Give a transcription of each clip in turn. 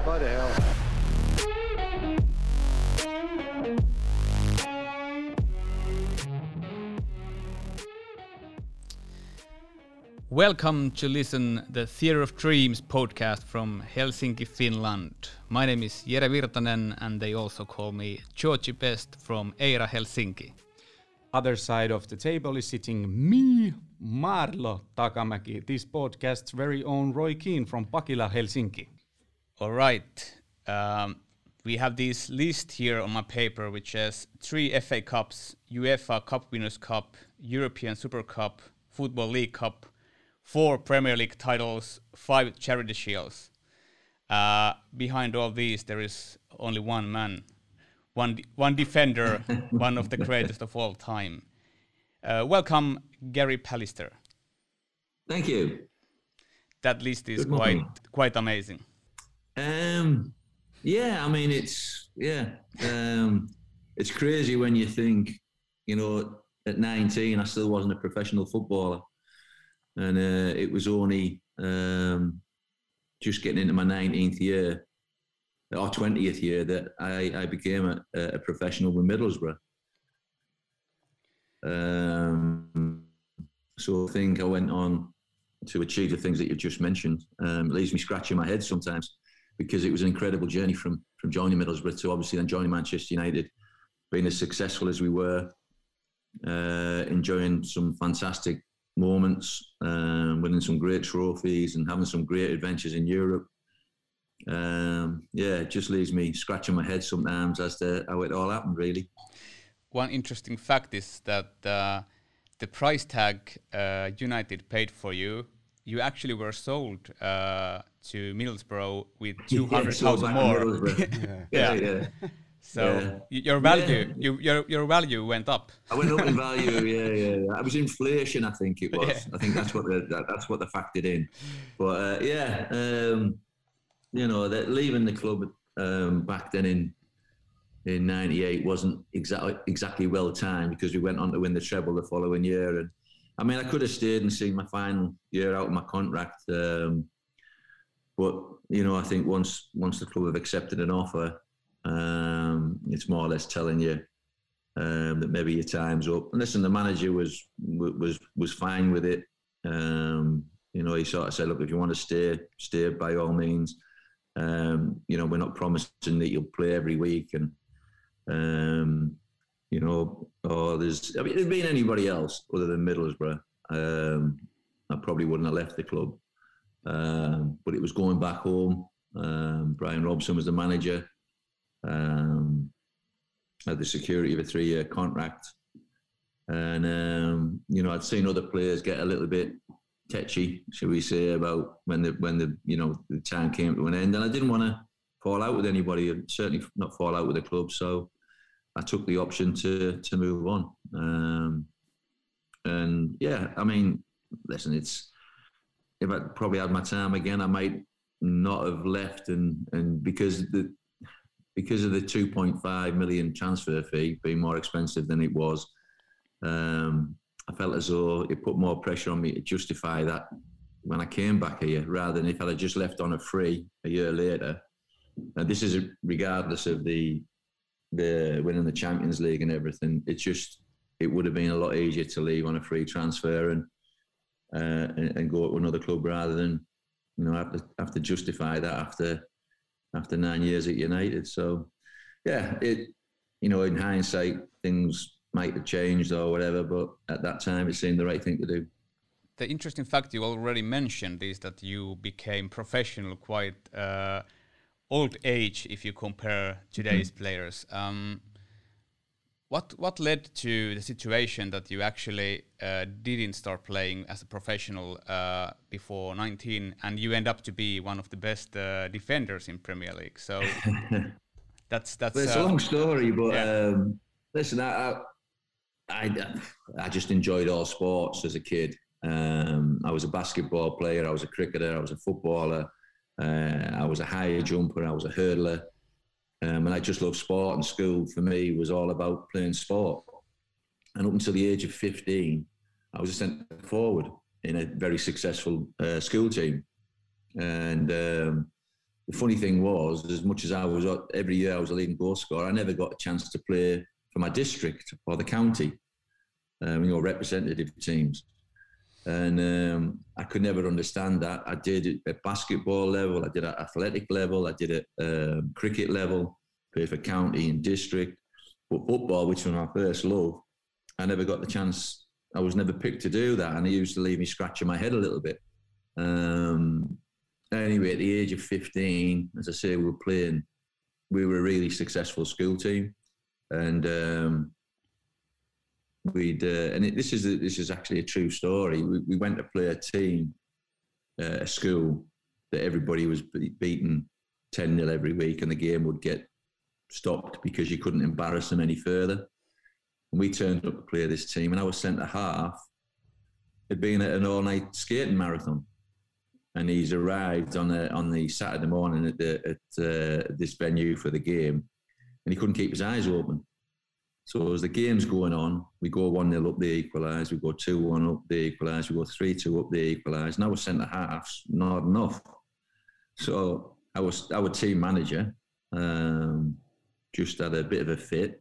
Bloody hell. Welcome to listen the Theatre of Dreams podcast from Helsinki, Finland. My name is Jere Virtanen and they also call me Georgi Best from Eira Helsinki. Other side of the table is sitting me, Marlo Takamäki, this podcast's very own Roy Keane from Pakila, Helsinki. All right. We have this list here on my paper which has 3 FA Cups, UEFA Cup Winners' Cup, European Super Cup, Football League Cup, 4 Premier League titles, 5 Charity Shields. Behind all these, there is only one man, one defender, one of the greatest of all time. Welcome, Gary Pallister. Thank you. That list is quite amazing. Yeah, I mean it's crazy when you think, you know, at 19 I still wasn't a professional footballer. And it was only just getting into my 19th year or 20th year that I became a professional with Middlesbrough. So I think I went on to achieve the things that you've just mentioned. It leaves me scratching my head sometimes because it was an incredible journey from joining Middlesbrough to obviously then joining Manchester United, being as successful as we were, enjoying some fantastic moments, winning some great trophies and having some great adventures in Europe. It just leaves me scratching my head sometimes as to how it all happened, really. One interesting fact is that the price tag United paid for you actually were sold to Middlesbrough with 200,000 more. Yeah. So your value, your value went up. I went up in value. Yeah. It was inflation, I think it was. Yeah. I think that's what they factored in. But you know, that leaving the club back then in '98 wasn't exactly well timed because we went on to win the treble the following year. And I mean, I could have stayed and seen my final year out of my contract. But you know, I think once the club have accepted an offer, it's more or less telling you that maybe your time's up. And listen, the manager was fine with it. You know, he sort of said, look, if you want to stay by all means. You know, we're not promising that you'll play every week. And, you know, if it had been anybody else other than Middlesbrough, I probably wouldn't have left the club. But it was going back home. Brian Robson was the manager. Had the security of a 3-year contract, and you know, I'd seen other players get a little bit tetchy, shall we say, about when the you know, the time came to an end, and I didn't want to fall out with anybody, and certainly not fall out with the club. So I took the option to move on. And yeah, I mean, listen, if I probably had my time again, I might not have left, and because of the 2.5 million transfer fee being more expensive than it was, I felt as though it put more pressure on me to justify that when I came back here, rather than if I'd just left on a free a year later. And this is regardless of the winning the Champions League and everything. It would have been a lot easier to leave on a free transfer and go to another club rather than, you know, have to justify that after 9 years at United. So, yeah, you know, in hindsight, things might have changed or whatever, but at that time, it seemed the right thing to do. The interesting fact you already mentioned is that you became professional quite old age if you compare today's players. What led to the situation that you actually didn't start playing as a professional before 19, and you end up to be one of the best defenders in Premier League? So that's it's a long story, but yeah. Listen, I just enjoyed all sports as a kid. I was a basketball player, I was a cricketer, I was a footballer, I was a high jumper, I was a hurdler. And I just loved sport, and school for me was all about playing sport. And up until the age of 15, I was a centre forward in a very successful school team. And the funny thing was, as much as I was every year I was a leading goal scorer, I never got a chance to play for my district or the county, representative teams. And I could never understand that. I did it at basketball level, I did it at athletic level, I did it at cricket level, played for county and district. But football, which was my first love, I never got the chance. I was never picked to do that, and it used to leave me scratching my head a little bit. Anyway, at the age of 15, as I say, we were a really successful school team, and this is actually a true story. We went to play a team, a school that everybody was beaten 10-0 every week, and the game would get stopped because you couldn't embarrass them any further. And we turned up to play this team, and I was centre half. It'd been an all-night skating marathon, and he's arrived on the Saturday morning at this venue for the game, and he couldn't keep his eyes open. So as the game's going on, we go 1-0 up, they equalise. We go 2-1 up, they equalise. We go 3-2 up, they equalise. Now we're centre halves, not enough. So our team manager just had a bit of a fit,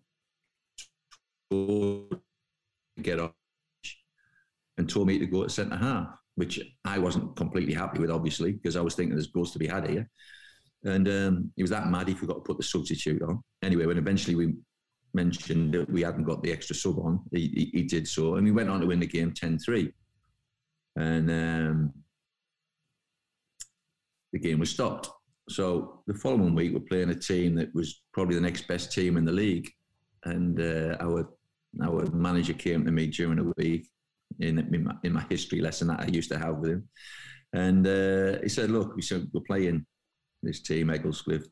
get off, and told me to go to centre half, which I wasn't completely happy with, obviously, because I was thinking there's goals to be had here. And he was that mad he forgot to put the substitute on. Anyway, when eventually we mentioned that we hadn't got the extra sub on, he did so, and we went on to win the game 10-3. And the game was stopped. So the following week, we're playing a team that was probably the next best team in the league. And our manager came to me during the week in my history lesson that I used to have with him. And he said, look, we're playing this team, Ecclescliffe,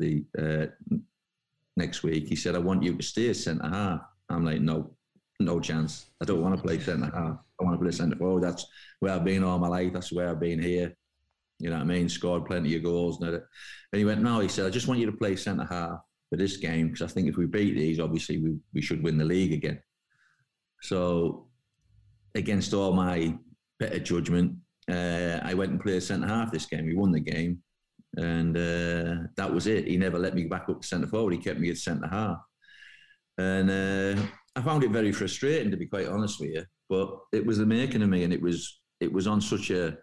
next week. He said, I want you to stay as centre half. I'm like, no chance. I don't want to play centre half. I want to play centre forward. That's where I've been all my life. That's where I've been here. You know what I mean? Scored plenty of goals. And he went, no, he said, I just want you to play centre half for this game, because I think if we beat these, obviously we should win the league again. So against all my better judgment, I went and played centre half this game. We won the game. And that was it. He never let me back up to centre forward. He kept me at centre half. And I found it very frustrating, to be quite honest with you. But it was the making of me, and it was on such a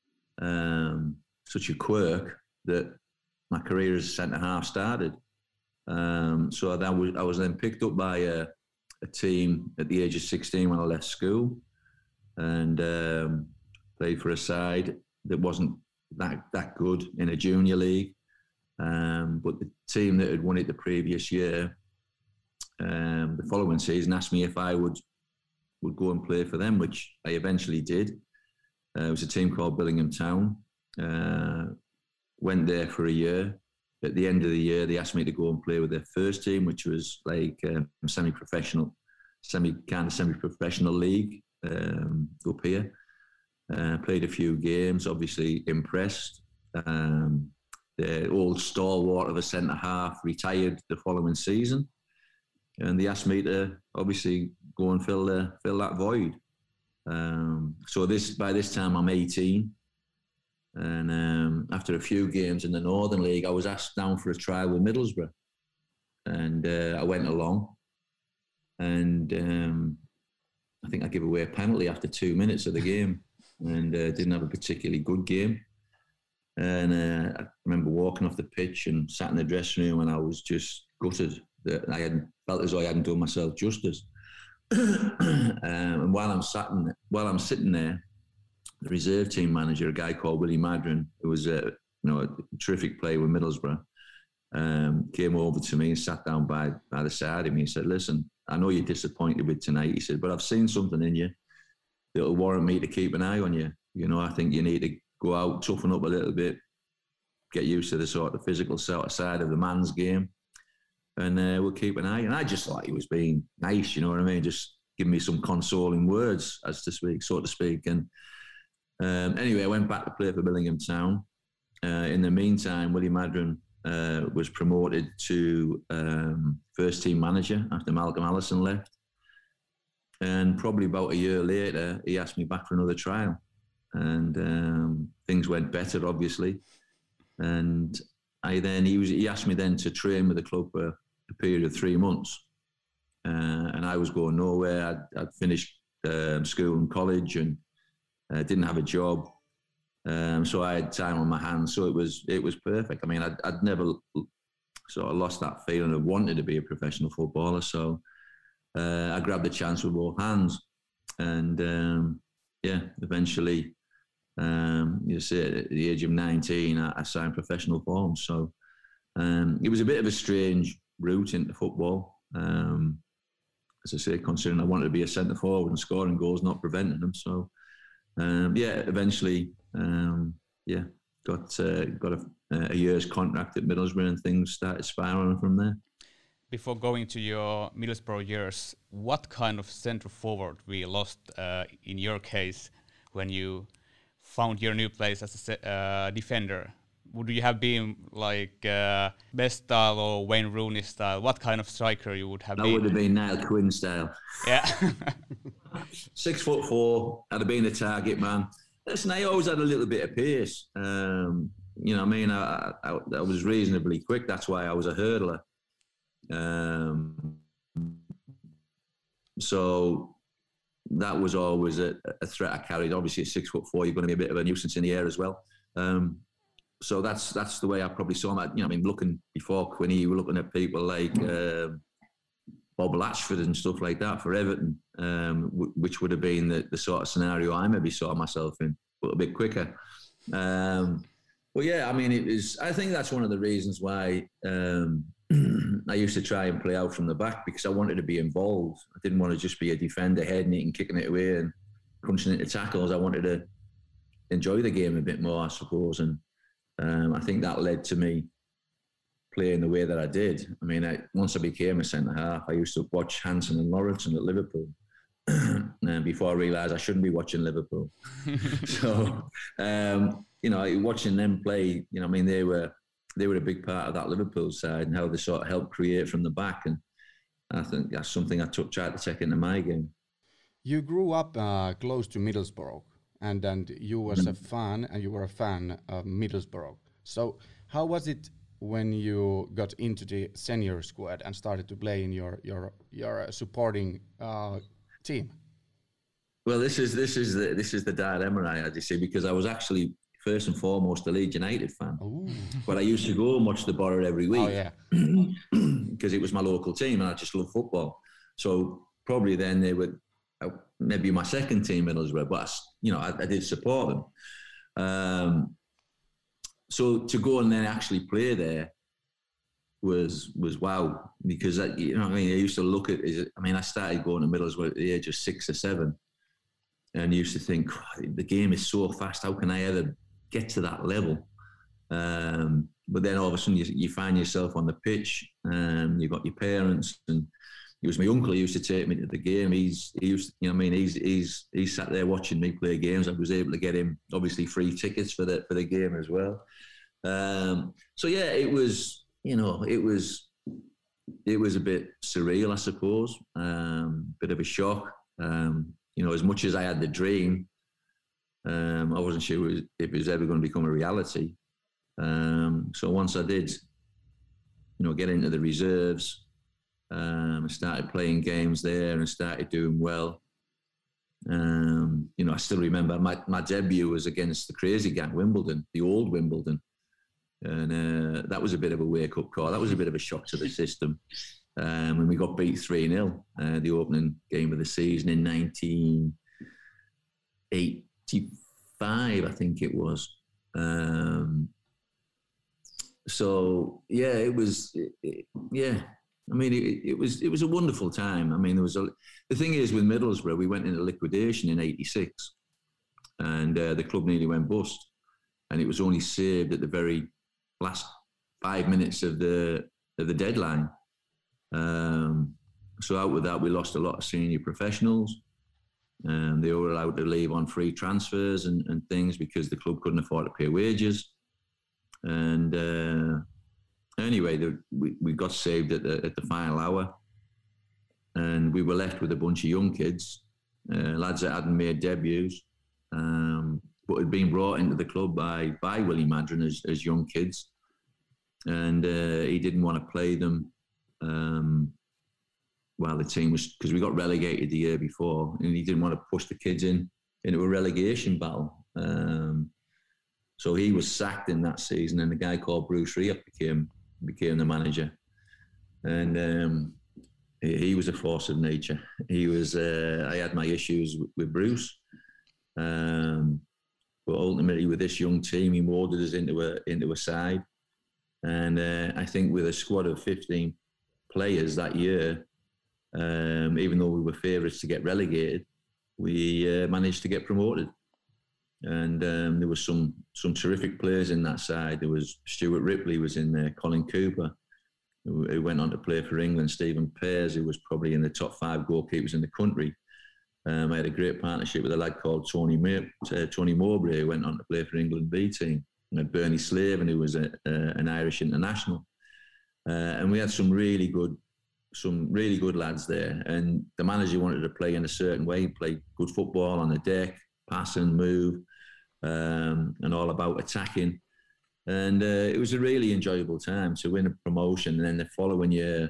quirk that my career as centre half started. So I was then picked up by a team at the age of 16 when I left school, and played for a side that wasn't that good in a junior league. But the team that had won it the previous year, the following season, asked me if I would go and play for them, which I eventually did. It was a team called Billingham Town. Went there for a year. At the end of the year, they asked me to go and play with their first team, which was like semi-professional league up here. Played a few games, obviously impressed. The old stalwart of a centre half retired the following season, and they asked me to obviously go and fill that void. So by this time I'm 18, and after a few games in the Northern League, I was asked down for a trial with Middlesbrough, and I went along, and I think I gave away a penalty after 2 minutes of the game, and didn't have a particularly good game. And I remember walking off the pitch and sat in the dressing room, and I was just gutted that I hadn't felt as though I hadn't done myself justice. And while I'm sitting there, the reserve team manager, a guy called Willie Madron, who was a terrific player with Middlesbrough, came over to me and sat down by the side of me and said, "Listen, I know you're disappointed with tonight," he said, "but I've seen something in you that'll warrant me to keep an eye on you. You know, I think you need to go out, toughen up a little bit, get used to the sort of physical side of the man's game, and we'll keep an eye." And I just thought he was being nice, you know what I mean? Just give me some consoling words, so to speak. And anyway, I went back to play for Billingham Town. In the meantime, Willie Madron was promoted to first team manager after Malcolm Allison left. And probably about a year later, he asked me back for another trial. And things went better, obviously. And he asked me then to train with the club for a period of 3 months, and I was going nowhere. I'd finished school and college and didn't have a job, so I had time on my hands. So it was perfect. I mean, I'd never sort of lost that feeling of wanting to be a professional footballer. So I grabbed the chance with both hands, and eventually. You see, at the age of 19, I signed professional forms. So it was a bit of a strange route into football. As I say, considering I wanted to be a centre forward and scoring goals, not preventing them. So eventually, got a year's contract at Middlesbrough, and things started spiraling from there. Before going to your Middlesbrough years, what kind of centre forward we lost in your case when you found your new place as a defender? Would you have been like Best style or Wayne Rooney style? What kind of striker you would have been? I would have been Niall Quinn style. Yeah. 6'4", I'd have been a target man. Listen, I always had a little bit of pace. You know what I mean? I was reasonably quick. That's why I was a hurdler. So that was always a threat I carried. Obviously, at 6'4", you're going to be a bit of a nuisance in the air as well. So that's the way I probably saw him. You know, I mean, looking before Quinny, you were looking at people like Bob Latchford and stuff like that for Everton, which would have been the sort of scenario I maybe saw myself in, but a bit quicker. But yeah, I mean, I think that's one of the reasons why I used to try and play out from the back, because I wanted to be involved. I didn't want to just be a defender heading it and kicking it away and crunching into tackles. I wanted to enjoy the game a bit more, I suppose. And I think that led to me playing the way that I did. I mean, once I became a centre-half, I used to watch Hansen and Lauritsen at Liverpool. And before I realised I shouldn't be watching Liverpool. So, you know, watching them play, you know, I mean, they were a big part of that Liverpool side and how they sort of helped create from the back. And I think that's something I tried to take into my game. You grew up close to Middlesbrough, and you was a fan, and you were a fan of Middlesbrough. So how was it when you got into the senior squad and started to play in your supporting team? Well, this is the dilemma I had, you see, because I was actually first and foremost a Leeds United fan. Ooh. But I used to go and watch the Borough every week. Oh, yeah. Because it was my local team and I just love football. So probably then they would maybe my second team, Middlesbrough, but you know, I did support them. So to go and then actually play there was wow, because you know what I mean, I used to look at I started going to Middlesbrough at the age of 6 or 7 and used to think, the game is so fast, how can I ever get to that level? But then all of a sudden you find yourself on the pitch, and you've got your parents, and it was my uncle who used to take me to the game. He sat there watching me play games. I was able to get him obviously free tickets for the game as well. So yeah, it was a bit surreal, I suppose. Bit of a shock. You know, as much as I had the dream, I wasn't sure if it was ever going to become a reality. So once I did, you know, get into the reserves, I started playing games there and started doing well. You know, I still remember my debut was against the Crazy Gang, Wimbledon, the old Wimbledon. And that was a bit of a wake-up call. That was a bit of a shock to the system. When we got beat 3-0, the opening game of the season in 1985, I think it was. So yeah, it was. I mean, it was a wonderful time. I mean, the thing is with Middlesbrough, we went into liquidation in '86, and the club nearly went bust, and it was only saved at the very last 5 minutes of the deadline. So out with that, we lost a lot of senior professionals. They were allowed to leave on free transfers and things because the club couldn't afford to pay wages. And anyway, we got saved at the final hour, and we were left with a bunch of young kids, lads that hadn't made debuts, but had been brought into the club by Willie Madron as young kids. and he didn't want to play them while the team was, because we got relegated the year before, and he didn't want to push the kids into a relegation battle. So he was sacked in that season, and a guy called Bruce Rioch became the manager, and he was a force of nature. He was. I had my issues with Bruce, but ultimately with this young team, he molded us into a side, and I think with a squad of 15 players that year, even though we were favourites to get relegated, we managed to get promoted. And there was some terrific players in that side. There was Stuart Ripley was in there, Colin Cooper, who went on to play for England, Stephen Pears, who was probably in the top 5 goalkeepers in the country. I had a great partnership with a lad called Tony Mowbray, who went on to play for England B team. And had Bernie Slaven, who was an Irish international. And we had some really good lads there. And the manager wanted to play in a certain way, play good football on the deck, pass and move, and all about attacking. And it was a really enjoyable time to win a promotion. And then the following year,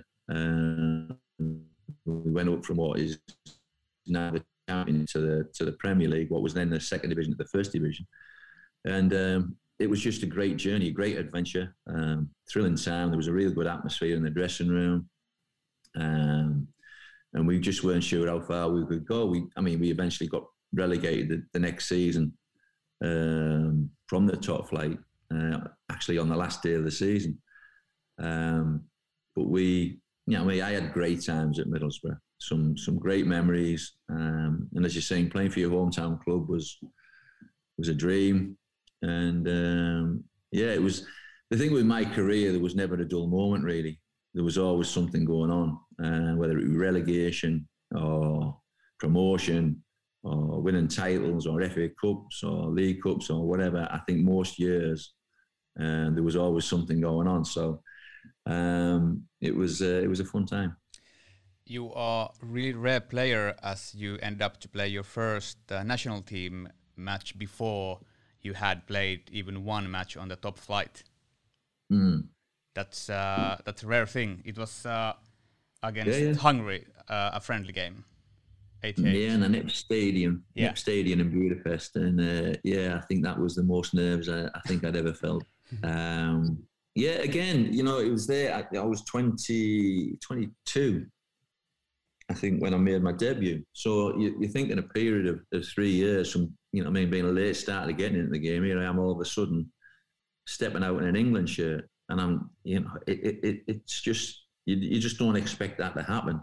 we went up from what is now the champion to the Premier League, what was then the second division to the first division. And it was just a great journey, a great adventure, thrilling time. There was a really good atmosphere in the dressing room. And we just weren't sure how far we could go. We eventually got relegated the next season from the top flight, actually on the last day of the season. But I had great times at Middlesbrough, some great memories. And as you're saying, playing for your hometown club was a dream. And it was the thing with my career. There was never a dull moment, really. There was always something going on, whether it be relegation or promotion or winning titles or FA Cups or League Cups or whatever. I think most years there was always something going on. So it was a fun time. You are a really rare player, as you end up to play your first national team match before you had played even one match on the top flight. Mm. That's a rare thing. It was against Hungary, a friendly game. 88. Yeah, in the NIP Stadium, NIP Stadium in Budapest, and I think that was the most nerves I think I'd ever felt. Again, it was there. I was 22, I think, when I made my debut. So you think in a period of 3 years from, being a late starter getting into the game, here I am all of a sudden stepping out in an England shirt. And I'm, it's just, you just don't expect that to happen.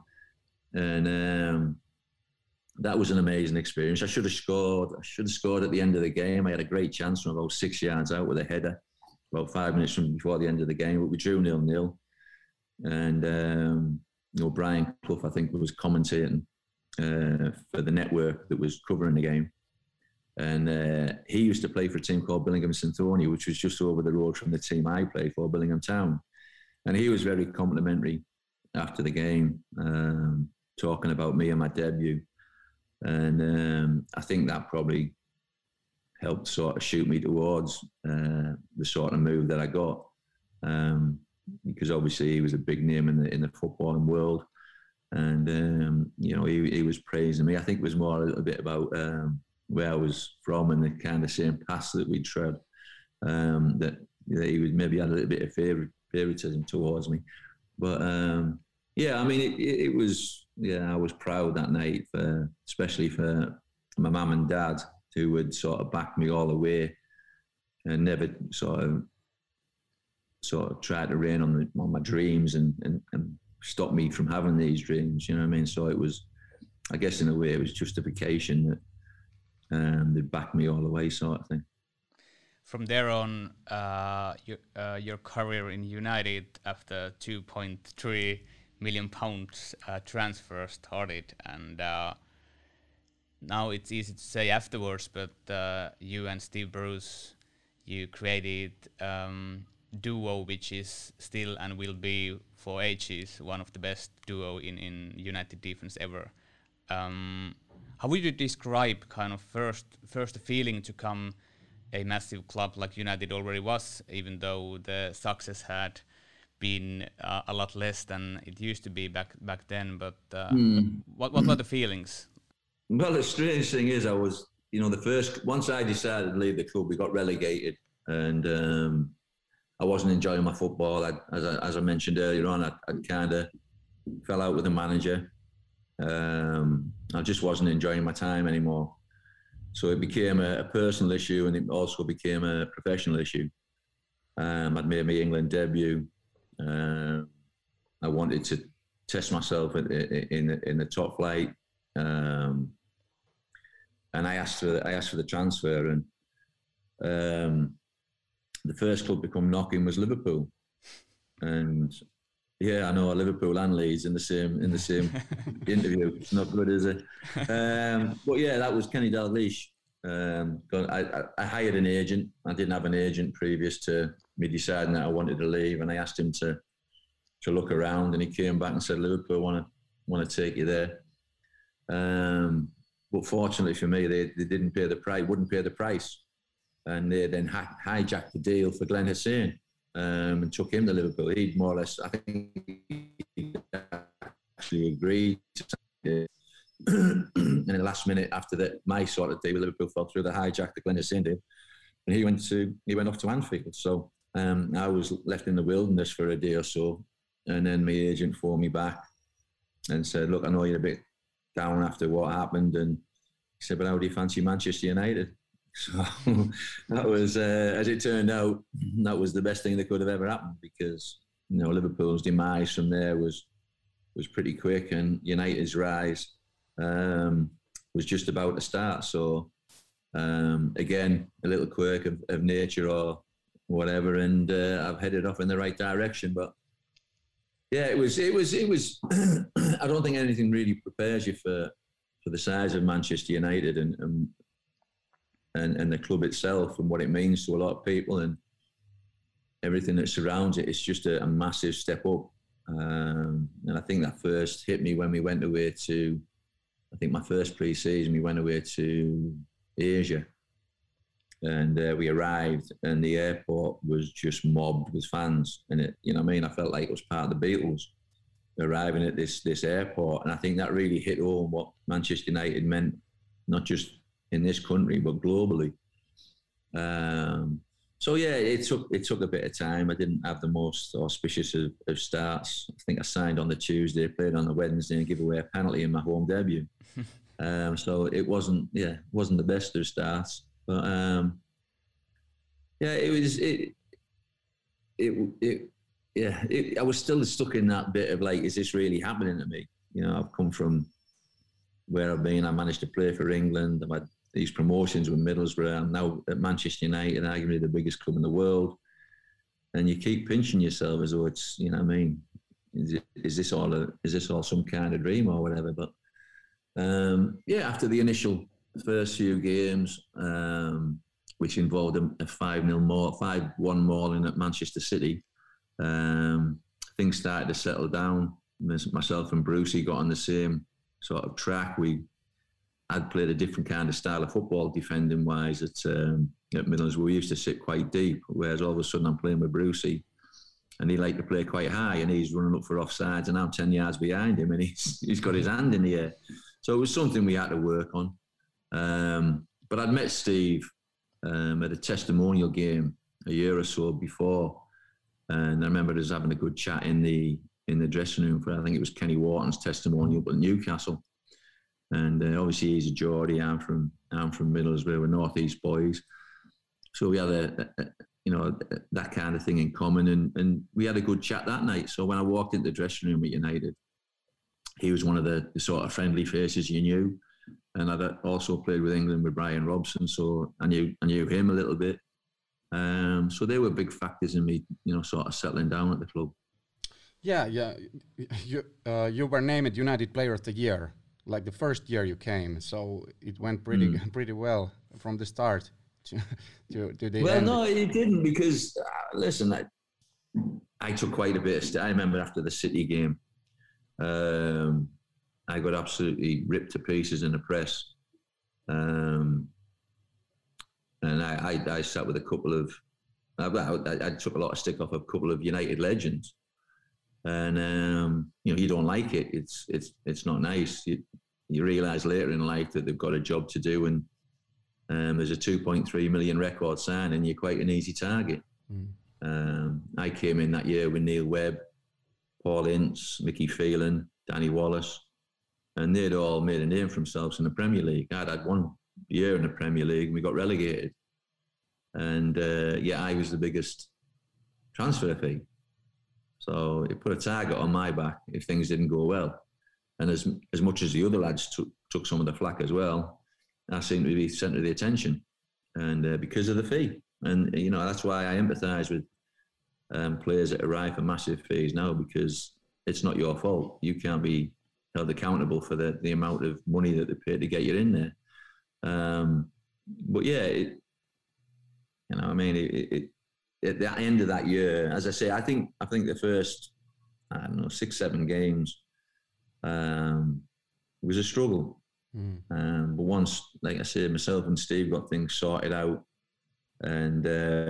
And that was an amazing experience. I should have scored at the end of the game. I had a great chance from about 6 yards out with a header, about 5 minutes before the end of the game. But we drew 0-0. And, Brian Clough, I think, was commentating for the network that was covering the game. And he used to play for a team called Billingham Synthornia, which was just over the road from the team I played for, Billingham Town. And he was very complimentary after the game, talking about me and my debut. And I think that probably helped sort of shoot me towards the sort of move that I got. Because obviously he was a big name in the footballing world. And, he was praising me. I think it was more a little bit about where I was from and the kind of same paths that we'd tread, that he was maybe had a little bit of favoritism towards me. But it was, I was proud that night, especially for my mum and dad, who would sort of back me all the way and never sort of tried to rain on my dreams and stop me from having these dreams. You know what I mean? So it was, I guess in a way, it was justification that they backed me all the way, sort of thing. From there on, your career in United after £2.3 million transfer started, and now it's easy to say afterwards, but you and Steve Bruce, you created duo which is still and will be for ages one of the best duo in United defense ever. How would you describe kind of first the feeling to come a massive club like United already was, even though the success had been a lot less than it used to be back then. But what were the feelings? Well, the strange thing is, I was, once I decided to leave the club, we got relegated, and I wasn't enjoying my football. As I mentioned earlier on, I kind of fell out with the manager. I just wasn't enjoying my time anymore. So it became a personal issue, and it also became a professional issue. I'd made my England debut. I wanted to test myself in the top flight, and I asked for the transfer, and the first club to come knocking was Liverpool, and yeah, I know, Liverpool and Leeds in the same interview. It's not good, is it? But yeah, that was Kenny Dalglish. I hired an agent. I didn't have an agent previous to me deciding that I wanted to leave, and I asked him to look around, and he came back and said, Liverpool want to take you there. But fortunately for me, they wouldn't pay the price, and they then hijacked the deal for Glenn Hussein. And took him to Liverpool. He'd more or less, I think, he actually agreed to. And in the last minute after that, my sort of deal with Liverpool fell through. The hijack the Glenn Hussein deal, and he went off to Anfield. So I was left in the wilderness for a day or so, and then my agent phoned me back and said, "Look, I know you're a bit down after what happened," and he said, "But how do you fancy Manchester United?" So that was, as it turned out, that was the best thing that could have ever happened, because Liverpool's demise from there was pretty quick, and United's rise was just about to start. So again, a little quirk of nature or whatever, and I've headed off in the right direction. But yeah, it was. I don't think anything really prepares you for the size of Manchester United and the club itself and what it means to a lot of people and everything that surrounds it. It's just a massive step up. And I think that first hit me when we went away to, I think my first pre-season, we went away to Asia. And we arrived, and the airport was just mobbed with fans. And I felt like it was part of the Beatles arriving at this airport. And I think that really hit home what Manchester United meant, not just in this country, but globally. So yeah, it took a bit of time. I didn't have the most auspicious of starts. I think I signed on the Tuesday, played on the Wednesday, and gave away a penalty in my home debut. So it wasn't the best of starts, but yeah, I was still stuck in that bit of like, is this really happening to me? I've come from where I've been. I managed to play for England. I've had these promotions with Middlesbrough. I'm now at Manchester United, arguably the biggest club in the world. And you keep pinching yourself as though it's, is this all some kind of dream or whatever? But yeah, after the initial first few games, which involved a 5-1 mauling at Manchester City, things started to settle down. Myself and Brucey got on the same sort of track. I'd played a different kind of style of football, defending wise at Middlesbrough. We used to sit quite deep, whereas all of a sudden I'm playing with Brucey, and he liked to play quite high, and he's running up for offsides, and I'm 10 yards behind him, and he's got his hand in the air. So it was something we had to work on. But I'd met Steve at a testimonial game a year or so before, and I remember us having a good chat in the dressing room for, I think it was Kenny Wharton's testimonial at Newcastle. And obviously he's a Geordie. I'm from Middlesbrough. We're North East boys, so we had that kind of thing in common, and we had a good chat that night. So when I walked into the dressing room at United, he was one of the sort of friendly faces you knew, and I'd also played with England with Brian Robson, so I knew him a little bit. So they were big factors in me, sort of settling down at the club. Yeah. You were named United Player of the Year, like the first year you came. So it went pretty well from the start to the well, end. no, it didn't, because listen, I took quite a bit. I remember after the City game, I got absolutely ripped to pieces in the press. And I sat with a couple of, I took a lot of stick off a couple of United legends. And, you don't like it. It's not nice. You realise later in life that they've got a job to do, and there's a 2.3 million record sign, and you're quite an easy target. I came in that year with Neil Webb, Paul Ince, Mickey Phelan, Danny Wallace, and they'd all made a name for themselves in the Premier League. I'd had 1 year in the Premier League, and we got relegated. And I was the biggest transfer fee. So it put a target on my back if things didn't go well. And as much as the other lads took some of the flack as well, I seemed to be the centre of the attention, and because of the fee. And that's why I empathise with players that arrive for massive fees now, because it's not your fault. You can't be held accountable for the amount of money that they pay to get you in there. But yeah, at the end of that year, as I say, I think the first, 6-7 games was a struggle. But once, like I said, myself and Steve got things sorted out, and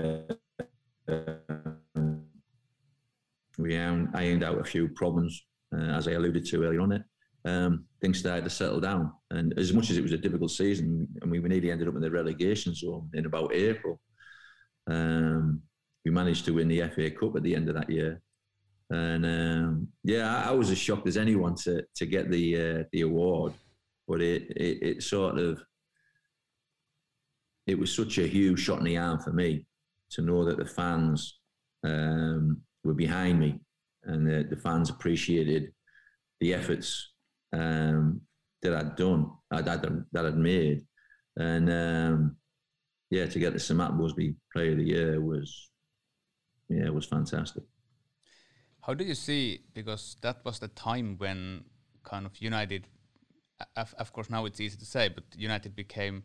I ironed out a few problems, as I alluded to earlier on it. Things started to settle down, and as much as it was a difficult season, and we nearly ended up in the relegation zone in about April, we managed to win the FA Cup at the end of that year. And I was as shocked as anyone to get the award, but it was such a huge shot in the arm for me to know that the fans were behind me, and the fans appreciated the efforts that I'd done, that I'd made. And to get the Sir Matt Busby Player of the Year was fantastic. How do you see, because that was the time when kind of United, of course now it's easy to say, but United became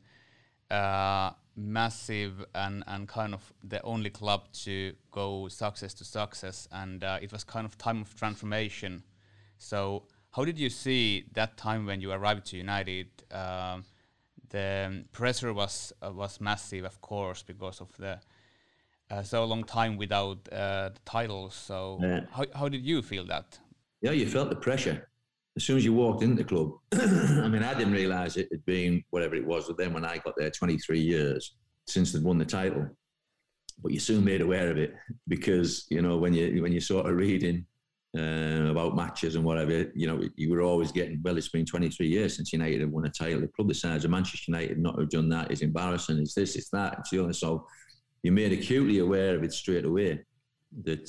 massive and kind of the only club to go success to success, and it was kind of time of transformation. So how did you see that time when you arrived to United? The pressure was massive, of course, because of the so long time without the titles. So how did you feel that? Yeah, you felt the pressure as soon as you walked into the club. I mean, I didn't realise it had been whatever it was with them when I got there, 23 years since they'd won the title. But you're soon made aware of it, because when you sort of reading about matches and whatever, you were always getting, well, it's been 23 years since United have won a title. The club the size of Manchester United not have done that is embarrassing. It's this, it's that, it's the other. So you're made acutely aware of it straight away, that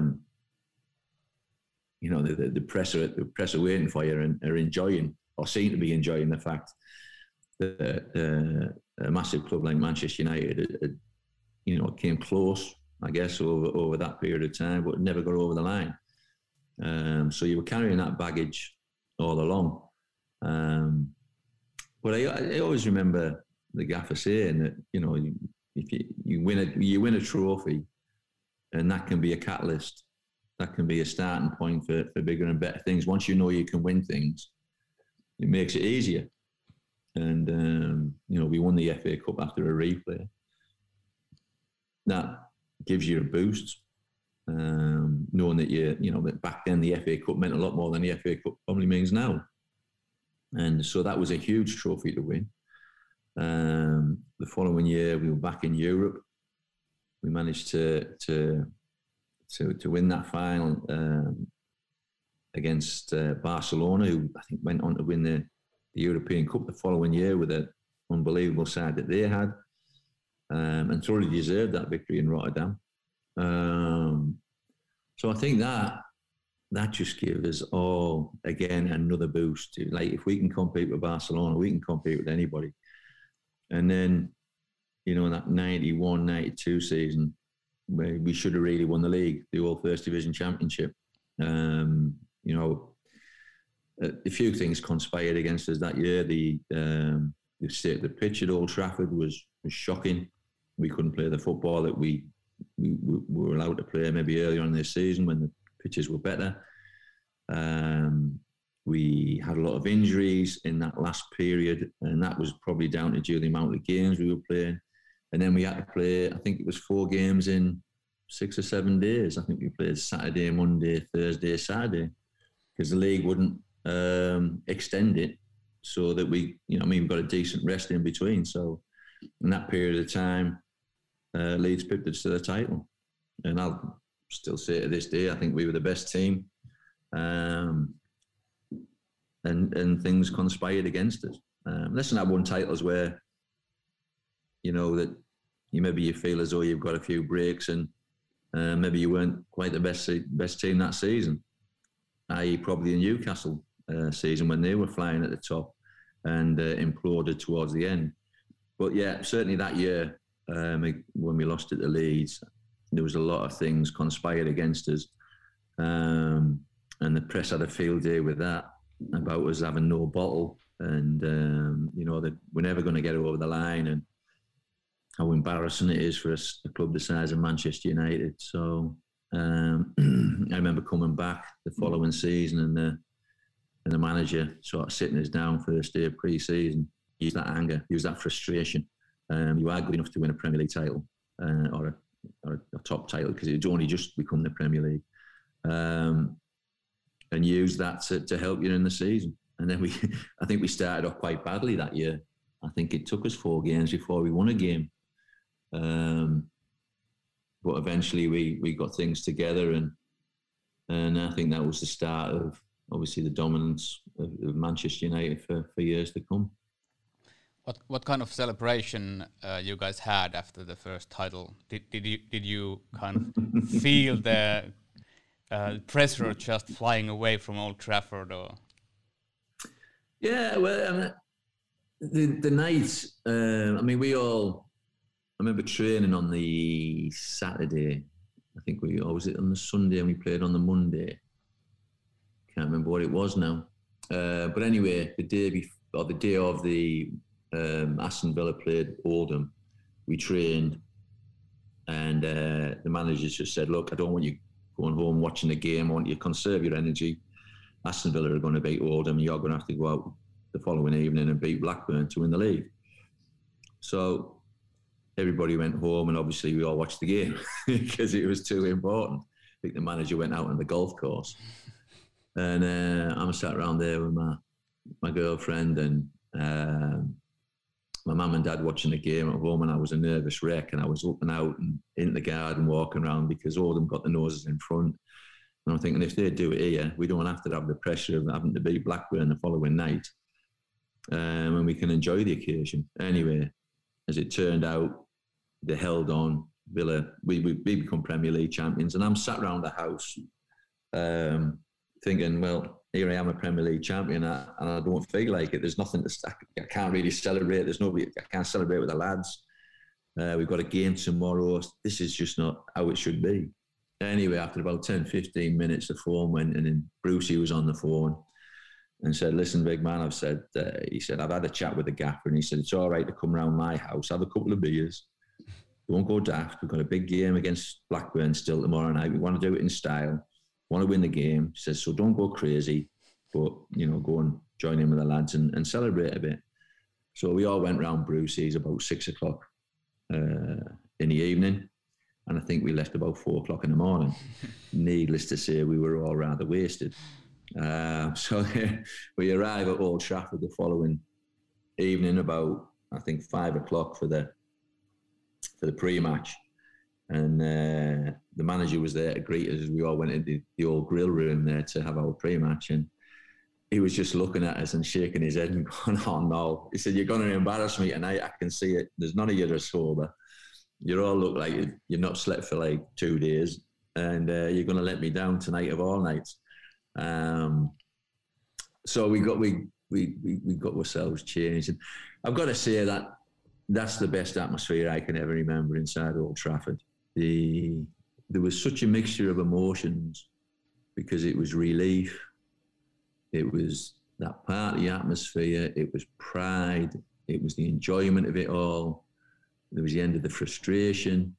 the press are waiting for you and are enjoying, or seem to be enjoying, the fact that a massive club like Manchester United came close, I guess, over that period of time, but never got over the line. So you were carrying that baggage all along. But I always remember the gaffer saying that, if you win a trophy, and that can be a catalyst, that can be a starting point for bigger and better things. Once you know you can win things, it makes it easier. And, we won the FA Cup after a replay. That gives you a boost, knowing that that back then the FA Cup meant a lot more than the FA Cup probably means now. And so that was a huge trophy to win. The following year, we were back in Europe. We managed to win that final against Barcelona, who I think went on to win the European Cup the following year with an unbelievable side that they had, and thoroughly deserved that victory in Rotterdam. So I think that just gives us all, again, another boost. Like, if we can compete with Barcelona, we can compete with anybody. And then, in that 91-92 season, we should have really won the league, the All First Division Championship. A few things conspired against us that year. The state of the pitch at Old Trafford was shocking. We couldn't play the football that we were allowed to play maybe earlier on this season when the pitches were better. We had a lot of injuries in that last period, and that was probably down to the amount of games we were playing. And then we had to play, I think it was 4 games in 6 or 7 days. I think we played Saturday, Monday, Thursday, Saturday, because the league wouldn't extend it so that we got a decent rest in between. So in that period of time, Leeds pipped us to the title. And I'll still say to this day, I think we were the best team. And things conspired against us. Less than that one titles where, that maybe you feel as though you've got a few breaks and maybe you weren't quite the best team that season, i.e. probably the Newcastle season when they were flying at the top and imploded towards the end. But yeah, certainly that year when we lost at the Leeds, there was a lot of things conspired against us. And the press had a field day with that, about us having no bottle and, that we're never going to get over the line and how embarrassing it is for a club the size of Manchester United. So I remember coming back the following season and the manager sort of sitting us down first day of pre-season, use that anger, use that frustration. You are good enough to win a Premier League title or a top title because it's only just become the Premier League. And use that to help you in the season. And then I think we started off quite badly that year. I think it took us 4 games before we won a game. But eventually we got things together and I think that was the start of obviously the dominance of Manchester United for years to come. What kind of celebration you guys had after the first title? Did you kind of feel the pressure just flying away from Old Trafford, or? Yeah, well, the night. I remember training on the Saturday. I think was it on the Sunday and we played on the Monday. Can't remember what it was now. But anyway, the day of the Aston Villa played Oldham, we trained, and the managers just said, "Look, I don't want you going home watching the game. I want you to conserve your energy. Aston Villa are going to beat Oldham. You're going to have to go out the following evening and beat Blackburn to win the league." So everybody went home, and obviously we all watched the game because it was too important. I think the manager went out on the golf course, and I'm sat around there with my girlfriend and my mum and dad watching the game at home, and I was a nervous wreck, and I was up and out and in the garden walking around because all of them got the noses in front. And I'm thinking, if they do it here, we don't have to have the pressure of having to beat Blackburn the following night, and we can enjoy the occasion. Anyway, as it turned out, they held on. Villa, we become Premier League champions, and I'm sat around the house thinking, well, here I am, a Premier League champion, and I don't feel like it. There's nothing I can't really celebrate. There's nobody. I can't celebrate with the lads. We've got a game tomorrow. This is just not how it should be. Anyway, after about 10, 15 minutes, the phone went, and then Brucey was on the phone and said, "Listen, big man," he said, "I've had a chat with the gaffer," and he said, "It's all right to come round my house, have a couple of beers. Don't go daft. We've got a big game against Blackburn still tomorrow night. We want to do it in style. Want to win the game." He says, "So don't go crazy, but, go and join in with the lads and celebrate a bit." So we all went round Brucey's about 6 o'clock in the evening. And I think we left about 4 o'clock in the morning. Needless to say, we were all rather wasted. So we arrived at Old Trafford the following evening about, I think, 5 o'clock for the pre-match. And the manager was there to greet us as we all went into the old grill room there to have our pre-match. And he was just looking at us and shaking his head and going, "Oh no." He said, "You're going to embarrass me tonight. I can see it. There's none of you are sober. You all look like you've not slept for like 2 days, and you're going to let me down tonight of all nights." So we got ourselves changed. And I've got to say that's the best atmosphere I can ever remember inside Old Trafford. There was such a mixture of emotions because it was relief, it was that party atmosphere, it was pride, it was the enjoyment of it all, there was the end of the frustration.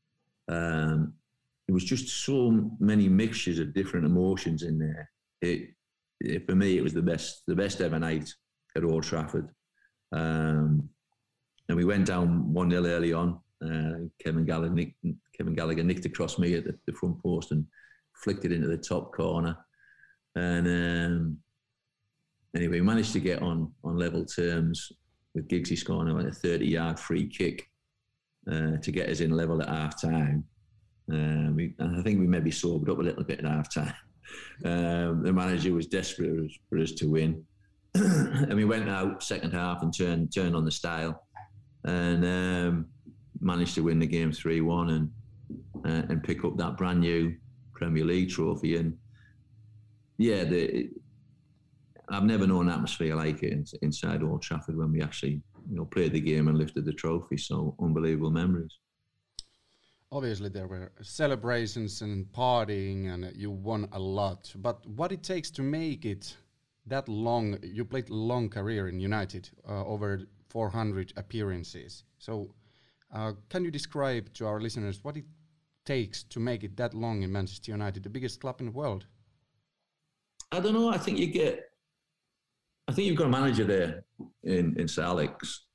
It was just so many mixtures of different emotions in there. For me, it was the best ever night at Old Trafford. And we went down 1-0 early on Kevin Gallagher nicked across me at the front post and flicked it into the top corner. And anyway, we managed to get on level terms with Giggsy scoring a 30-yard free kick to get us in level at half time. And I think we maybe sobered up a little bit at half time. The manager was desperate for us to win. And we went out second half and turned on the style and managed to win the game 3-1 and pick up that brand new Premier League trophy. And yeah, I've never known an atmosphere like it inside Old Trafford when we actually, played the game and lifted the trophy. So unbelievable memories. Obviously, there were celebrations and partying, and you won a lot. But what it takes to make it that long? You played a long career in United, over 400 appearances. So, can you describe to our listeners what it takes to make it that long in Manchester United, the biggest club in the world? I don't know. I think you've got a manager there in Sir Alex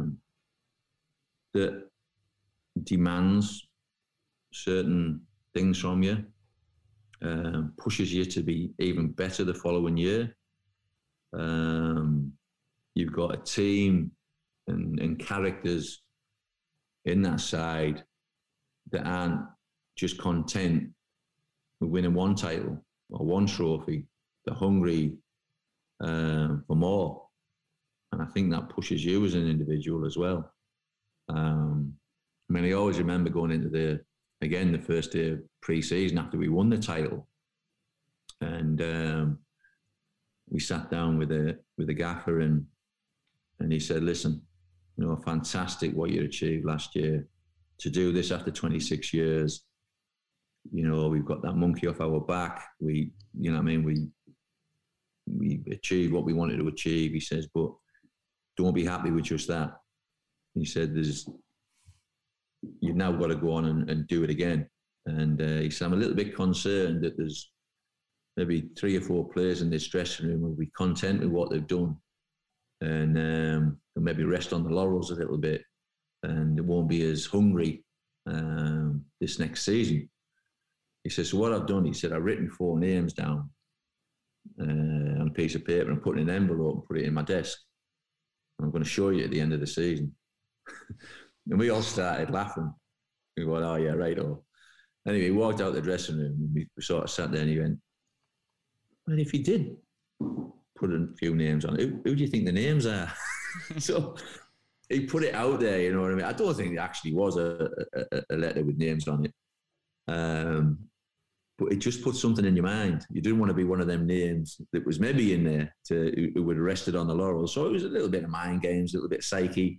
that demands certain things from you, pushes you to be even better the following year. You've got a team and characters in that side that aren't just content with winning one title or one trophy. They're hungry for more. And I think that pushes you as an individual as well. I always remember going into the first day of pre-season after we won the title. And we sat down with the gaffer and he said, listen, fantastic what you achieved last year. To do this after 26 years, we've got that monkey off our back. We achieved what we wanted to achieve. He says, but don't be happy with just that. He said, you've now got to go on and do it again. And he said, I'm a little bit concerned that there's maybe 3 or 4 players in this dressing room will be content with what they've done and they'll maybe rest on the laurels a little bit and they won't be as hungry this next season. He said, so what I've done, he said, I've written 4 names down on a piece of paper and put it in an envelope and put it in my desk. I'm going to show you at the end of the season. And we all started laughing. We went, oh yeah, right. Anyway, he walked out the dressing room and we sort of sat there and he went, well, if he did put a few names on, who do you think the names are? So he put it out there, you know what I mean? I don't think there actually was a letter with names on it. But it just put something in your mind. You didn't want to be one of them names that was maybe in there who would have rested on the laurels. So it was a little bit of mind games, a little bit of psyche.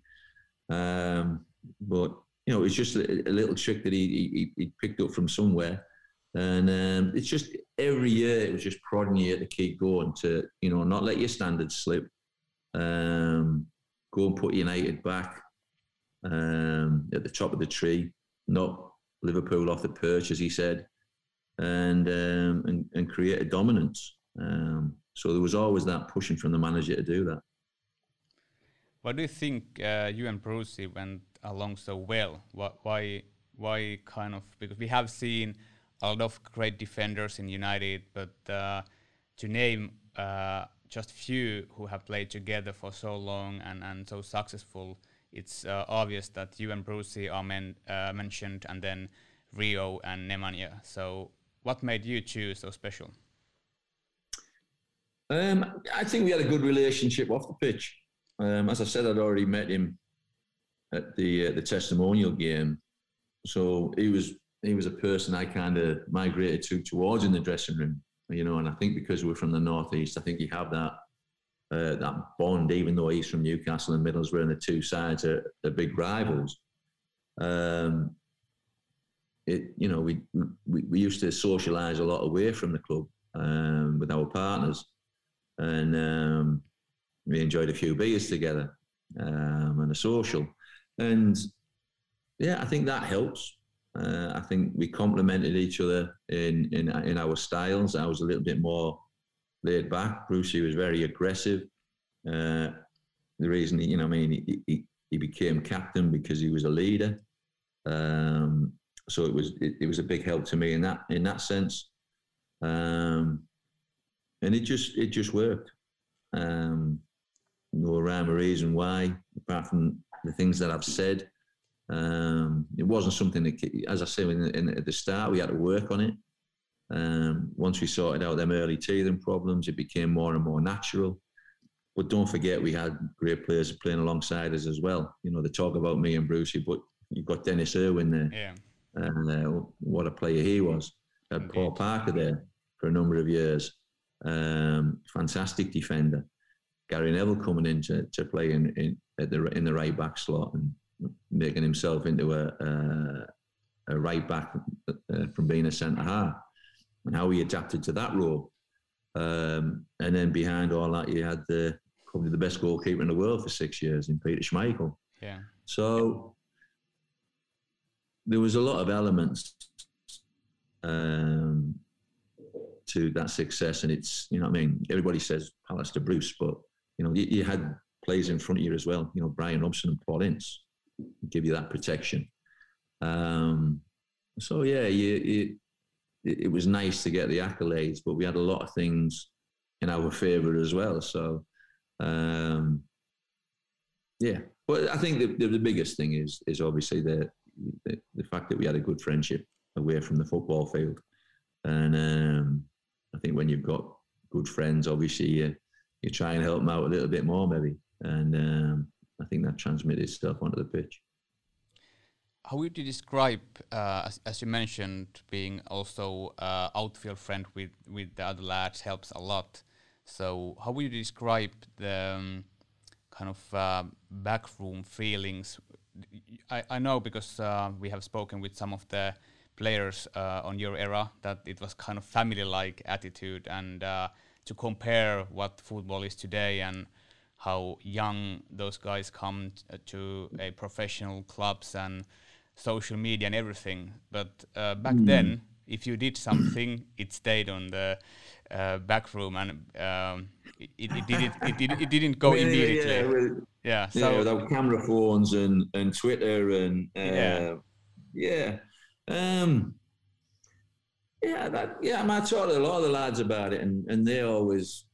But, it's just a little trick that he picked up from somewhere. And it's just every year it was just prodding you to keep going, to, not let your standards slip. Go and put United back at the top of the tree, not Liverpool off the perch, as he said, and create a dominance. So there was always that pushing from the manager to do that. Why do you think you and Brucey went along so well? Why kind of, because we have seen a lot of great defenders in United, but to name just few who have played together for so long and so successful, it's obvious that you and Brucey are mentioned, and then Rio and Nemanja. So what made you two so special? I think we had a good relationship off the pitch. As I said, I'd already met him at the testimonial game, so he was a person I kind of migrated towards in the dressing room, and I think because we're from the northeast, I think you have that bond, even though he's from Newcastle and Middlesbrough, and the two sides are big rivals. We used to socialise a lot away from the club with our partners, and we enjoyed a few beers together and a social. And yeah, I think that helps. I think we complemented each other in our styles. I was a little bit more laid back. Brucey was very aggressive. The reason he became captain because he was a leader. So it was a big help to me in that sense, and it just worked. No rhyme or reason why, apart from the things that I've said. It wasn't something that, as I said at the start, we had to work on it. Once we sorted out them early teething problems, it became more and more natural. But don't forget, we had great players playing alongside us as well. You know, they talk about me and Brucey, but you've got Dennis Irwin there. Yeah. And what a player he was. Had Paul Parker there for a number of years. Fantastic defender. Gary Neville coming in to play in the right back slot and making himself into a right back from being a centre half, and how he adapted to that role. And then behind all that, you had probably the best goalkeeper in the world for 6 years in Peter Schmeichel. Yeah. So there was a lot of elements to that success, and it's, you know what I mean, everybody says Palace to Bruce, but you know, you had players in front of you as well. You know, Brian Robson and Paul Ince give you that protection. So yeah, it was nice to get the accolades, but we had a lot of things in our favour as well. So yeah, but I think the biggest thing is obviously the fact that we had a good friendship away from the football field, and I think when you've got good friends, obviously you try and help them out a little bit more maybe, and I think that transmitted itself onto the pitch. How would you describe, as you mentioned, being also outfield friend with the other lads helps a lot. So how would you describe the kind of backroom feelings? I know because we have spoken with some of the players on your era that it was kind of family-like attitude, and to compare what football is today and how young those guys come to a professional clubs and social media and everything. But back then, if you did something, it stayed on the back room, and it didn't go immediately. So without camera phones and Twitter and I talked to a lot of the lads about it, and they always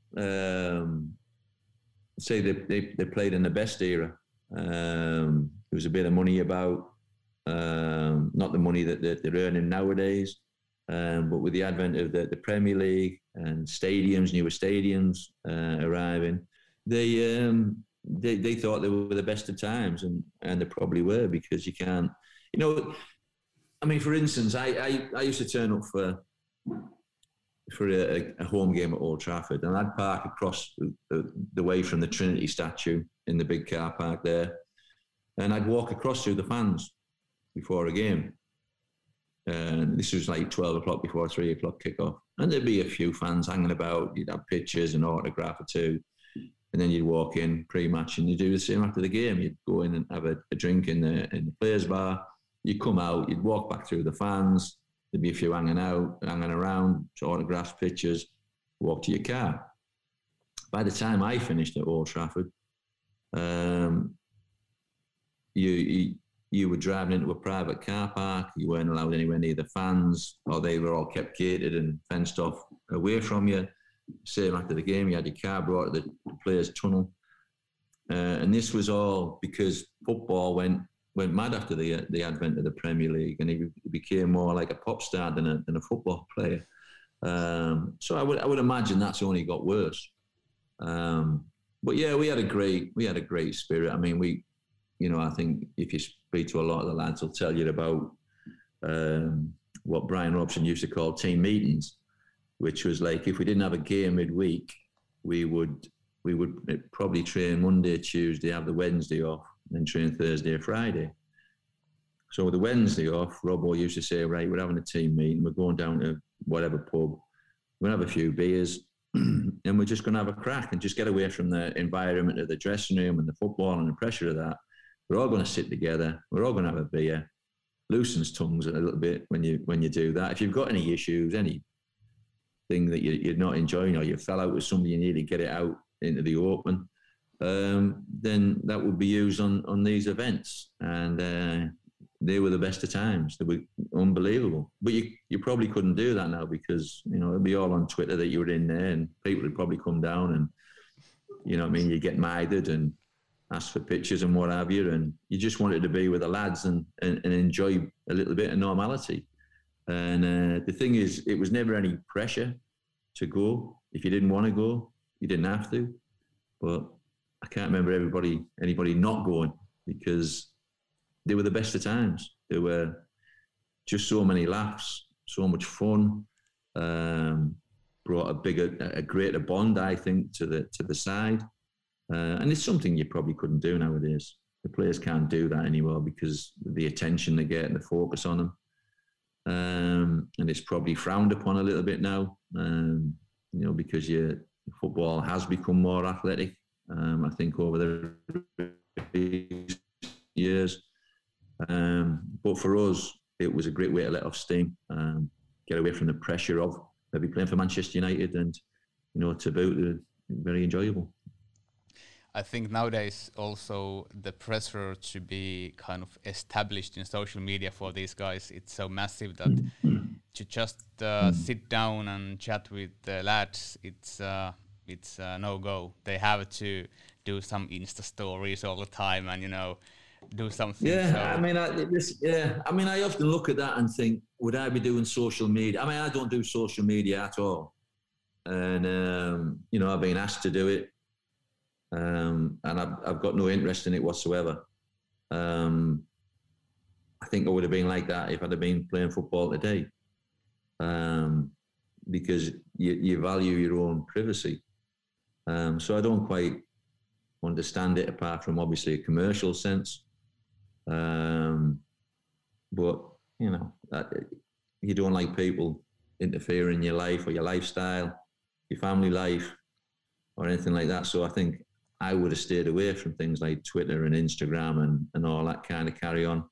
say they played in the best era. There was a bit of money about, not the money that they're earning nowadays, but with the advent of the Premier League and stadiums, newer stadiums arriving, they thought they were the best of times, and they probably were, because you can't, you know. I mean, for instance, I used to turn up for a home game at Old Trafford, and I'd park across the way from the Trinity statue in the big car park there, and I'd walk across through the fans before a game. And this was like 12 o'clock before 3 o'clock kickoff, and there'd be a few fans hanging about. You'd have pictures and autograph or two, and then you'd walk in pre-match, and you'd do the same after the game. You'd go in and have a drink in the players' bar. You'd come out, you'd walk back through the fans. There'd be a few hanging around, autographs, pictures, walk to your car. By the time I finished at Old Trafford, you were driving into a private car park. You weren't allowed anywhere near the fans, or they were all kept gated and fenced off away from you. Same after the game, you had your car brought to the players' tunnel. And this was all because football went mad after the advent of the Premier League, and he became more like a pop star than a football player. So I would imagine that's only got worse. But yeah, we had a great spirit. I mean, I think if you speak to a lot of the lads, they'll tell you about what Brian Robson used to call team meetings, which was like, if we didn't have a game midweek, we would probably train Monday, Tuesday, have the Wednesday off, and train Thursday or Friday. So with the Wednesday off, Robbo used to say, right, we're having a team meeting, we're going down to whatever pub, we're going to have a few beers, and we're just going to have a crack and just get away from the environment of the dressing room and the football and the pressure of that. We're all going to sit together, we're all going to have a beer, loosens tongues a little bit when you do that. If you've got any issues, anything that you're not enjoying, or you fell out with somebody, you need to get it out into the open, then that would be used on these events. And they were the best of times. They were unbelievable. But you probably couldn't do that now because, you know, it'd be all on Twitter that you were in there and people would probably come down and, you know what I mean, you get mithred and ask for pictures and what have you. And you just wanted to be with the lads and enjoy a little bit of normality. And the thing is, it was never any pressure to go. If you didn't want to go, you didn't have to. But I can't remember anybody not going because they were the best of times. There were just so many laughs, so much fun. Brought a greater bond, I think, to the side. And it's something you probably couldn't do nowadays. The players can't do that anymore because of the attention they get and the focus on them. And it's probably frowned upon a little bit now, you know, because football has become more athletic, I think, over the years. But for us, it was a great way to let off steam, get away from the pressure of maybe playing for Manchester United and, you know, to boot, very enjoyable. I think nowadays also the pressure to be kind of established in social media for these guys, it's so massive that to just sit down and chat with the lads, it's no go. They have to do some Insta stories all the time and, you know, do something. Yeah, so. I mean, I often look at that and think, would I be doing social media? I mean, I don't do social media at all. And, you know, I've been asked to do it. And I've got no interest in it whatsoever. I think I would have been like that if I'd have been playing football today. Because you value your own privacy. So I don't quite understand it apart from obviously a commercial sense. But, you know, you don't like people interfering in your life or your lifestyle, your family life or anything like that. So I think I would have stayed away from things like Twitter and Instagram and all that kind of carry on.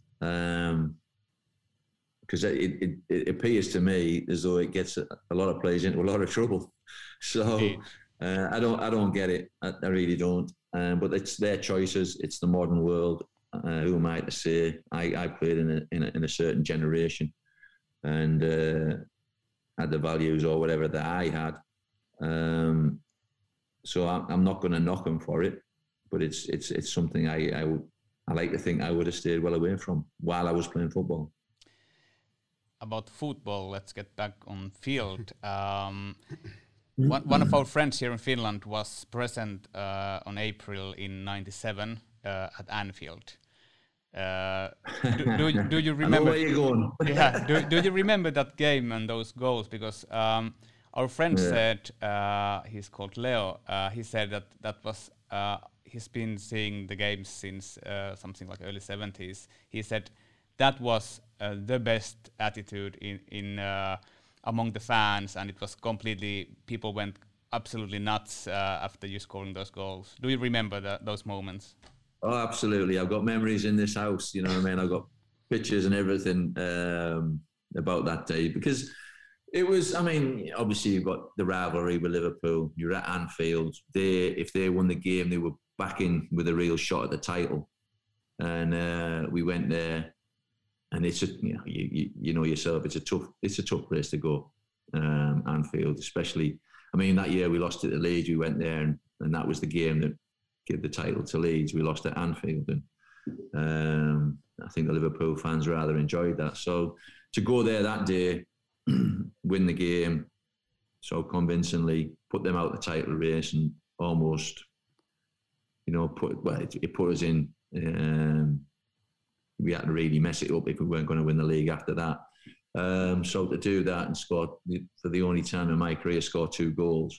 Because it appears to me as though it gets a lot of players into a lot of trouble. So I don't get it. I really don't. But it's their choices. It's the modern world. Who am I to say? I played in a certain generation and had the values or whatever that I had. So I'm not going to knock them for it, but it's something I like to think I would have stayed well away from while I was playing football. About football, let's get back on field. One of our friends here in Finland was present on April in '97 at Anfield. Do you remember? I know where you're going. Yeah. Do you remember that game and those goals? Because our friend said, he's called Leo. He said that was he's been seeing the games since something like early '70s. He said that was the best attitude in among the fans, and it was completely, people went absolutely nuts after you scoring those goals. Do you remember those moments? Oh, absolutely. I've got memories in this house, you know what I mean? I've got pictures and everything about that day because it was, I mean, obviously you've got the rivalry with Liverpool. You're at Anfield. If they won the game, they were back in with a real shot at the title. And we went there. And it's you know yourself, it's a tough place to go, Anfield, especially. I mean, that year we lost it to Leeds. We went there, and that was the game that gave the title to Leeds. We lost at Anfield, and I think the Liverpool fans rather enjoyed that. So to go there that day, win the game so convincingly, put them out the title race, and almost, you know, it put us in. We had to really mess it up if we weren't going to win the league after that. So to do that and score, for the only time in my career, score 2 goals,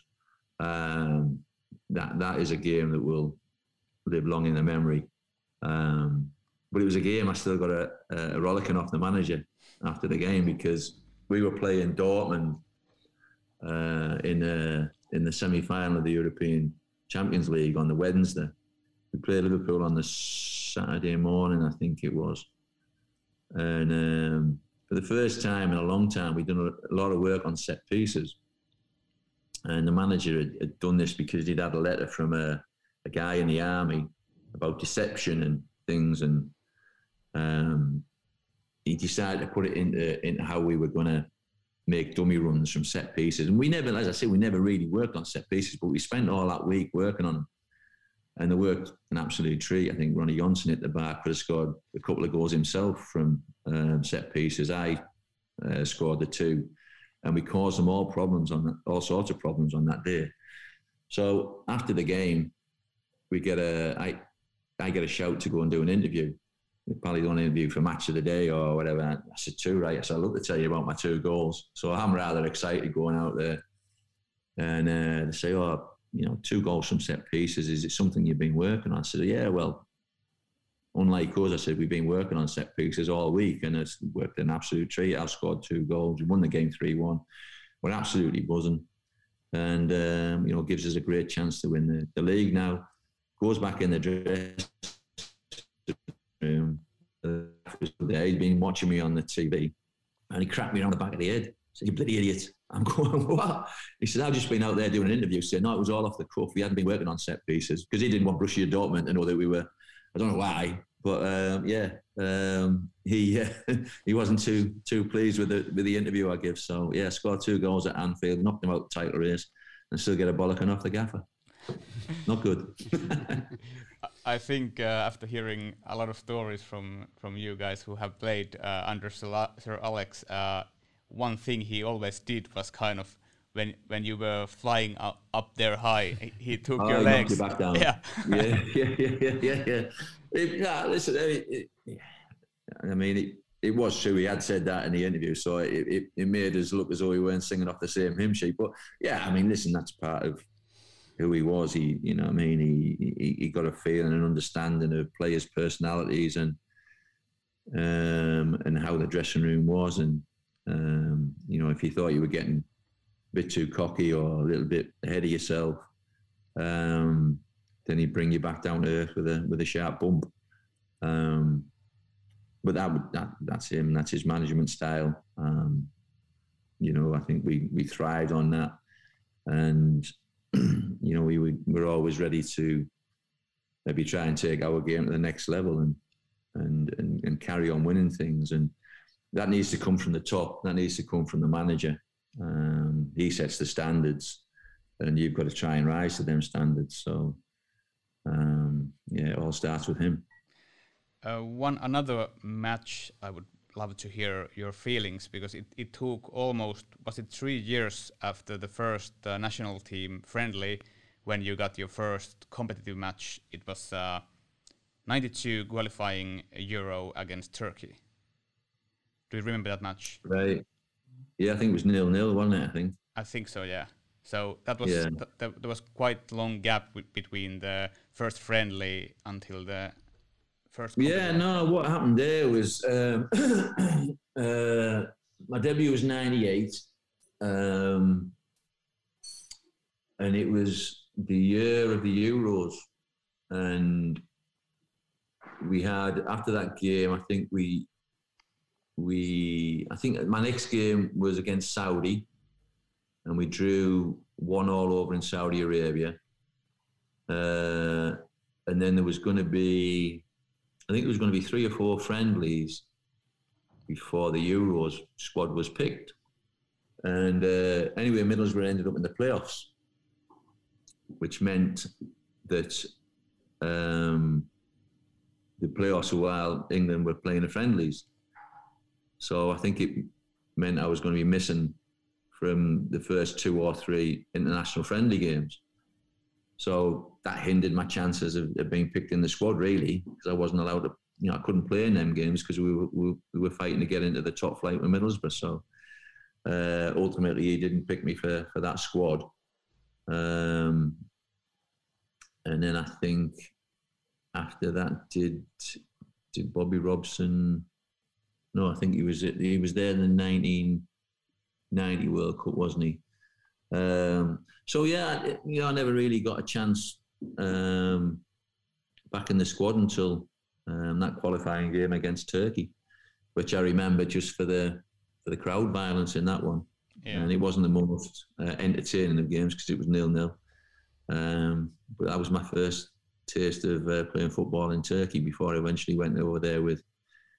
that is a game that will live long in the memory. But it was a game I still got a rollicking off the manager after the game because we were playing Dortmund in the semi-final of the European Champions League on the Wednesday. We played Liverpool on the Saturday morning, I think it was. And for the first time in a long time, we'd done a lot of work on set pieces. And the manager had done this because he'd had a letter from a guy in the army about deception and things. And he decided to put it into how we were going to make dummy runs from set pieces. And we never, as I say, we never really worked on set pieces, but we spent all that week working on them. And they worked an absolute treat. I think Ronnie Johnson at the back could have scored a couple of goals himself from set pieces. I scored the 2. And we caused them all sorts of problems on that day. So after the game, I get a shout to go and do an interview. Probably do an interview for Match of the Day or whatever. I said 2, right? I said, I'd love to tell you about my 2 goals. So I'm rather excited going out there. And they say, 2 goals from set pieces. Is it something you've been working on? I said, yeah, well, unlike us, I said, we've been working on set pieces all week and it's worked an absolute treat. I've scored 2 goals. We won the game 3-1. We're absolutely buzzing. And, gives us a great chance to win the league now. Goes back in the dress room. He'd been watching me on the TV and he cracked me around the back of the head. He said, you bloody idiot. I'm going, what? He said, I've just been out there doing an interview. He said, no, it was all off the cuff. We hadn't been working on set pieces because he didn't want Borussia Dortmund to know that we were, I don't know why, but he wasn't too pleased with the interview I give. So yeah, scored 2 goals at Anfield, knocked him out the title race and still get a bollocking off the gaffer. Not good. I think after hearing a lot of stories from you guys who have played under Sir Alex, one thing he always did was kind of when you were flying up there high, he took your legs. You back down. Yeah. Listen, it was true. He had said that in the interview, so it made us look as though we weren't singing off the same hymn sheet. But yeah, listen, that's part of who he was. He got a feeling and understanding of players' personalities and how the dressing room was. And if you thought you were getting a bit too cocky or a little bit ahead of yourself, then he'd bring you back down to earth with a sharp bump. But that's him. That's his management style. I think we thrived on that, and we were always ready to maybe try and take our game to the next level and carry on winning things. And that needs to come from the top. That needs to come from the manager. He sets the standards, and you've got to try and rise to them standards. So, it all starts with him. Another match, I would love to hear your feelings, because it took almost, was it 3 years after the first national team friendly when you got your first competitive match? It was 92 qualifying Euro against Turkey. Do you remember that match? Right. Yeah, I think it was 0-0, wasn't it? I think so, yeah. So that was there was quite a long gap between the first friendly until the first. Yeah, no. What happened there was my debut was 98, and it was the year of the Euros, and we had, after that game, I think I think my next game was against Saudi, and we drew 1-1 over in Saudi Arabia. And then there was going to be, I think there was going to be 3 or 4 friendlies before the Euros squad was picked. And anyway, Middlesbrough ended up in the playoffs, which meant that the playoffs were while England were playing the friendlies. So I think it meant I was going to be missing from the first 2 or 3 international friendly games. So that hindered my chances of being picked in the squad, really, because I wasn't allowed to, I couldn't play in them games because we were fighting to get into the top flight with Middlesbrough. So ultimately, he didn't pick me for that squad. And then I think after that, did Bobby Robson? No, I think he was there in the 1990 World Cup, wasn't he? So yeah, I never really got a chance back in the squad until that qualifying game against Turkey, which I remember just for the crowd violence in that one. Yeah. And it wasn't the most entertaining of games because it was 0-0. But that was my first taste of playing football in Turkey before I eventually went over there with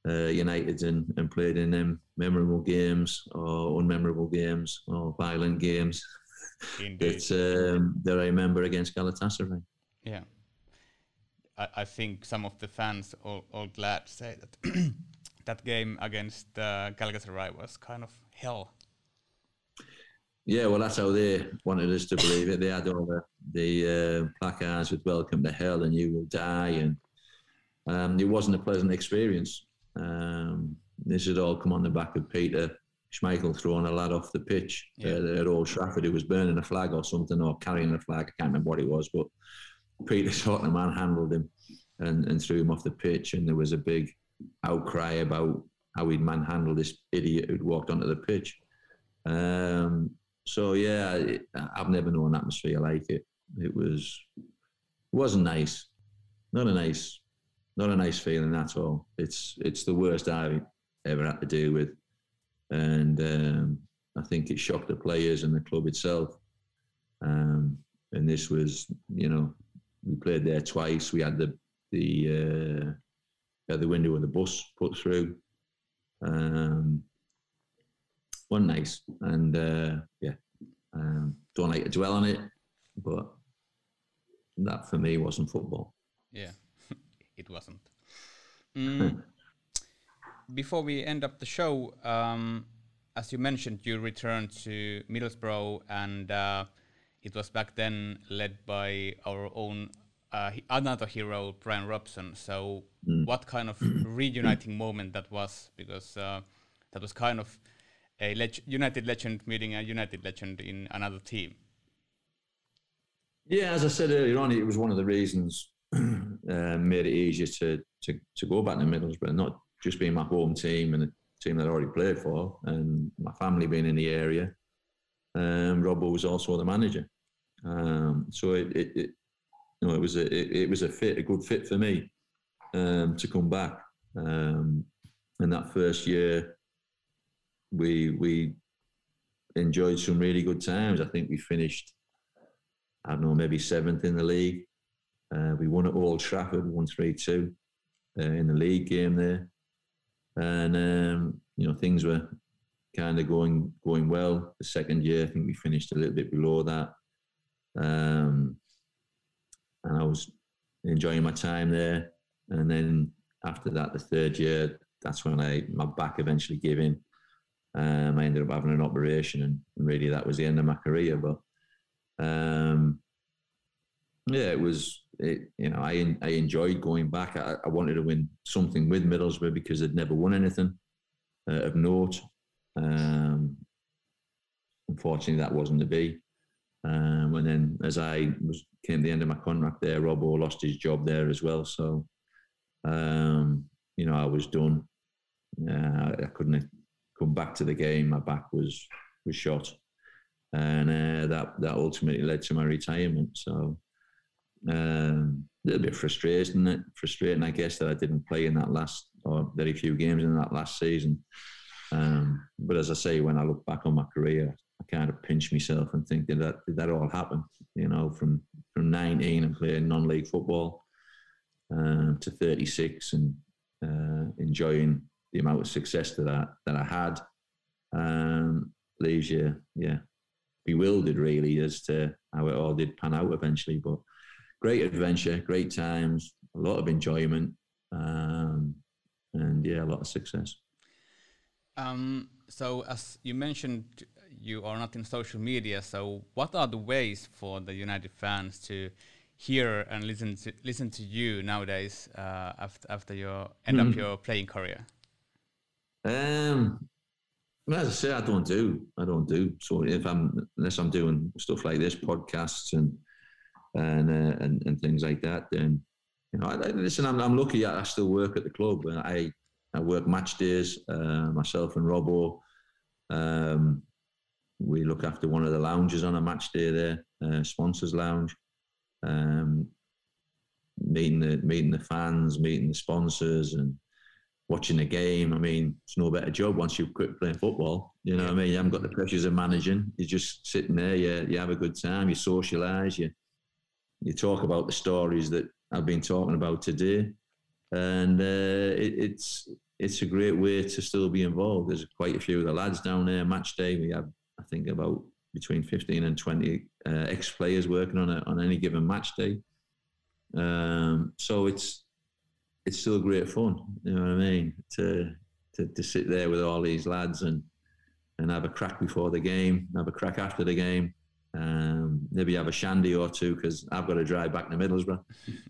United and played in them memorable games or unmemorable games or violent games that I remember against Galatasaray. Yeah. I think some of the fans all glad to say that that game against Galatasaray was kind of hell. Yeah, well, that's how they wanted us to believe it. They had all the placards with "Welcome to Hell" and "You will die," and it wasn't a pleasant experience. This had all come on the back of Peter Schmeichel throwing a lad off the pitch at Old Trafford who was burning a flag or something, or carrying a flag. I can't remember what it was, but Peter sort of manhandled him and threw him off the pitch, and there was a big outcry about how he'd manhandled this idiot who'd walked onto the pitch. So yeah, I've never known an atmosphere like it. It wasn't nice. Not a nice feeling at all. It's the worst I've ever had to deal with, and I think it shocked the players and the club itself. And this was, we played there twice. We had the window of the bus put through. Wasn't nice, and don't like to dwell on it, but that for me wasn't football. Yeah, it wasn't. Before we end up the show, as you mentioned, you returned to Middlesbrough, and it was back then led by our own another hero, Brian Robson. So what kind of reuniting moment that was? Because that was kind of a United legend meeting a United legend in another team. Yeah, as I said earlier on, it was one of the reasons made it easier to go back to Middlesbrough, not just being my home team and a team that I already played for, and my family being in the area. Robbo was also the manager, so it was a good fit for me to come back. And that first year, we enjoyed some really good times. I think we finished, I don't know, maybe 7th in the league. We won at Old Trafford, won 3-2 in the league game there. And, things were kind of going well. The second year, I think we finished a little bit below that. And I was enjoying my time there. And then after that, the third year, that's when my back eventually gave in. I ended up having an operation, and really that was the end of my career. But I enjoyed going back. I wanted to win something with Middlesbrough because they'd never won anything of note. Unfortunately, that wasn't to be. And then as came to the end of my contract there, Robbo lost his job there as well. So, I was done. I couldn't come back to the game. My back was shot, and that ultimately led to my retirement. So a little bit frustrating, I guess, that I didn't play in that last, or very few games in that last season. But as I say, when I look back on my career, I kind of pinch myself and think, did that all happen? From 19 and playing non-league football to 36 and enjoying the amount of success that I had, leaves you, bewildered really as to how it all did pan out eventually. But great adventure, great times, a lot of enjoyment, and a lot of success. So as you mentioned, you are not in social media. So what are the ways for the United fans to hear and listen to you nowadays after you end up your playing career? As I say, I don't do. So unless I'm doing stuff like this, podcasts and things like that, then listen. I'm lucky. I still work at the club. I work match days. Myself and Robbo. We look after one of the lounges on a match day there, sponsors lounge. Meeting the fans, meeting the sponsors, and watching the game. I mean, it's no better job once you've quit playing football. You know what I mean? You haven't got the pressures of managing. You're just sitting there. You have a good time. You socialise. You talk about the stories that I've been talking about today, and it's it's a great way to still be involved. There's quite a few of the lads down there. Match day, we have, I think, about between 15 and 20 ex-players working on any given match day. So it's still great fun. You know what I mean? To sit there with all these lads and have a crack before the game, have a crack after the game. Maybe have a shandy or two because I've got to drive back to Middlesbrough.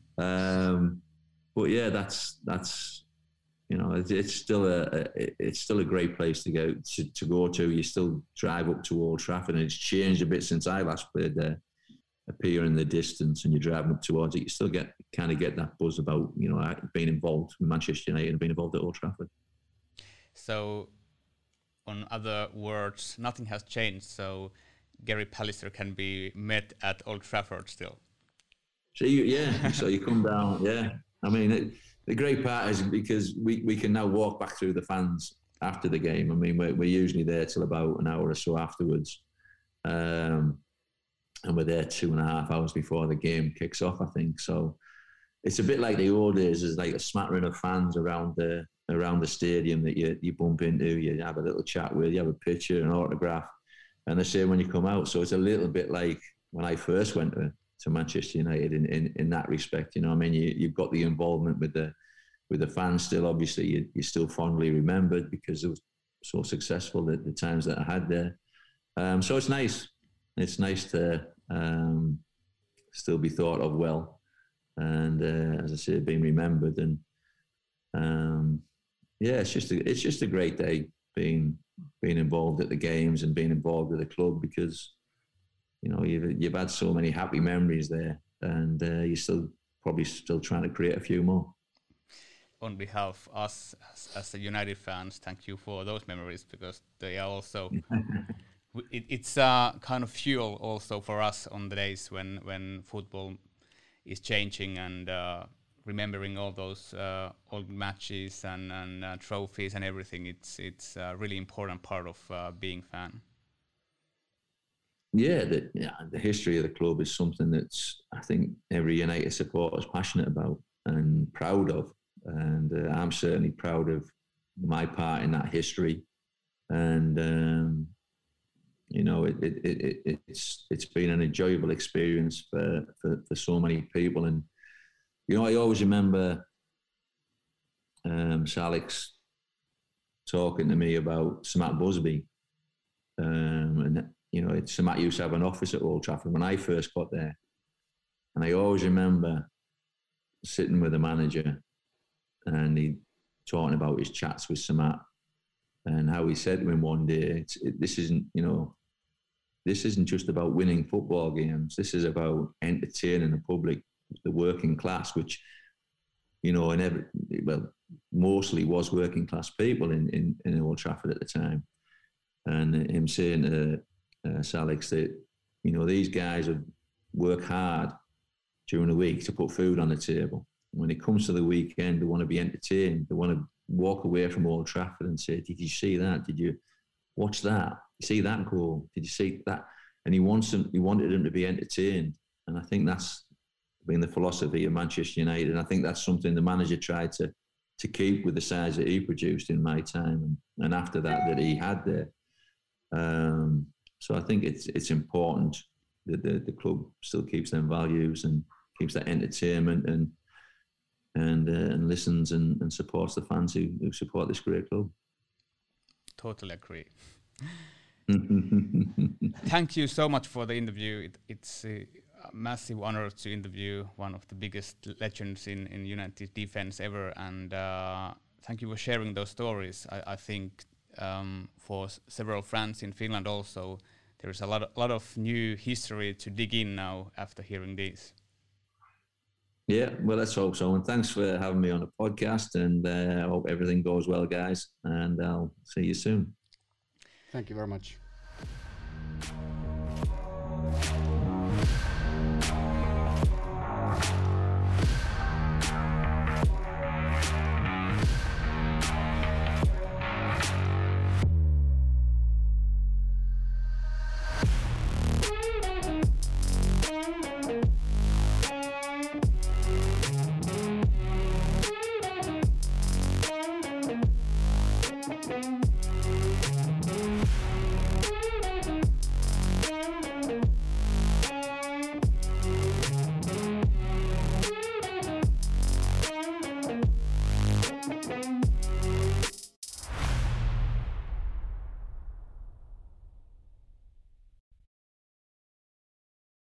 But yeah, that's you know, it's still a great place to go to. You still drive up to Old Trafford, and it's changed a bit since I last played there. Appear in the distance, and you're driving up towards it. You still get that buzz about, you know, being involved with Manchester United and being involved at Old Trafford. So, on other words, nothing has changed. So, Gary Pallister can be met at Old Trafford still. So you come down. Yeah, I mean. The great part is because we can now walk back through the fans after the game. I mean, we're usually there till about an hour or so afterwards. And we're there 2.5 hours before the game kicks off, I think. So it's a bit like the old days. There's like a smattering of fans around the stadium that you bump into, you have a little chat with, you have a picture, an autograph, and the same when you come out. So it's a little bit like when I first went to Manchester United in that respect. You know, I mean, you've got the involvement with the fans still. Obviously, you're still fondly remembered because it was so successful at the times that I had there. So it's nice. It's nice to still be thought of well, and as I say, being remembered. And yeah, it's just a great day being involved at the games and being involved with the club because, you know, you've had so many happy memories there, and you're probably still trying to create a few more. On behalf of us as the United fans, thank you for those memories because they are also. It's a kind of fuel also for us on the days when football is changing and remembering all those old matches and trophies and everything. It's a really important part of being fan. Yeah, the history of the club is something that's, I think, every United supporter is passionate about and proud of. And I'm certainly proud of my part in that history. And, you know, it's been an enjoyable experience for so many people. And, you know, I always remember Sir Alex talking to me about Sir Matt Busby. And you know, Sir Matt used to have an office at Old Trafford when I first got there. And I always remember sitting with the manager and he talking about his chats with Sir Matt and how he said to him one day, this isn't just about winning football games. This is about entertaining the public, the working class, which, you know, mostly was working class people in Old Trafford at the time. And him saying to Sir Alex that, you know, these guys have worked hard during the week to put food on the table. When it comes to the weekend, they want to be entertained. They want to walk away from Old Trafford and say, did you see that? Did you watch that? You see that goal? Did you see that? And he wanted them to be entertained. And I think that's been the philosophy of Manchester United. And I think that's something the manager tried to keep with the sides that he produced in my time and after that he had there. So I think it's important that the club still keeps them values and keeps that entertainment and listens and supports the fans who support this great club. Totally agree. Thank you so much for the interview. It's a massive honor to interview one of the biggest legends in United defense ever, and thank you for sharing those stories. I think for several fans in Finland also, there is a lot of new history to dig in now after hearing this. Yeah, well, let's hope so. And thanks for having me on the podcast. And I hope everything goes well, guys. And I'll see you soon. Thank you very much.